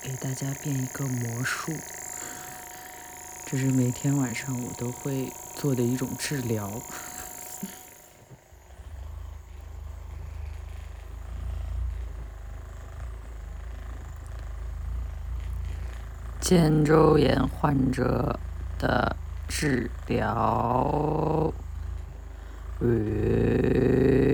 给大家变一个魔术，这是每天晚上我都会做的一种治疗。肩周炎患者的治疗。